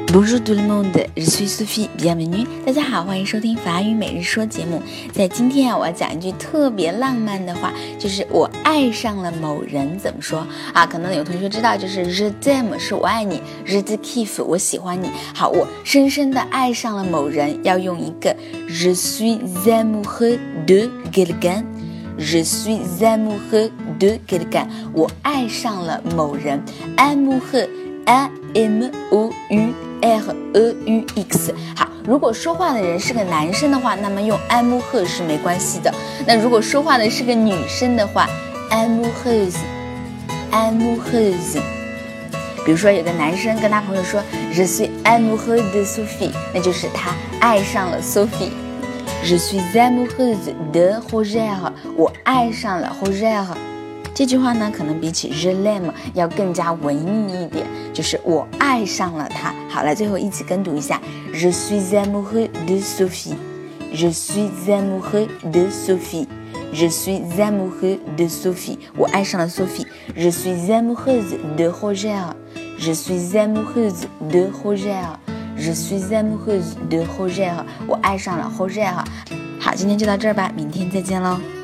Bonjour tout le monde, je suis Sophie, bienvenue。大家好，欢迎收听法语每日说节目。在今天我要讲一句特别浪漫的话，就是我爱上了某人，怎么说啊？可能有同学知道，就是 je t'aime 是我爱你 ，je te kiffe 我喜欢你。好，我深深的爱上了某人，要用一个 je suis amoureux de quelqu'un。Je suis amoureux de quelqu'un， 我爱上了某人 ，amoureux A-M-O-U-R-E-U-X。 好，如果说话的人是个男生的话，那么用 amoureux 是没关系的。那如果说话的是个女生的话 ，amoureuse。比如说有个男生跟他朋友说 Je suis amoureux de Sophie， 那就是他爱上了 Sophie。Je suis amoureuse de Roger， 我爱上了 Roger。这句话呢，可能比起 je l'aime 要更加文艺一点，就是我爱上了他。好，来，最后一起跟读一下 Je suis amoureux de Sophie， Je suis amoureux de Sophie， Je suis amoureux de Sophie， 我爱上了 Sophie。 Je suis amoureuse de Roger， Je suis amoureuse de Roger， Je suis amoureuse de Roger， 我爱上了 Roger。 好，今天就到这儿吧，明天再见喽。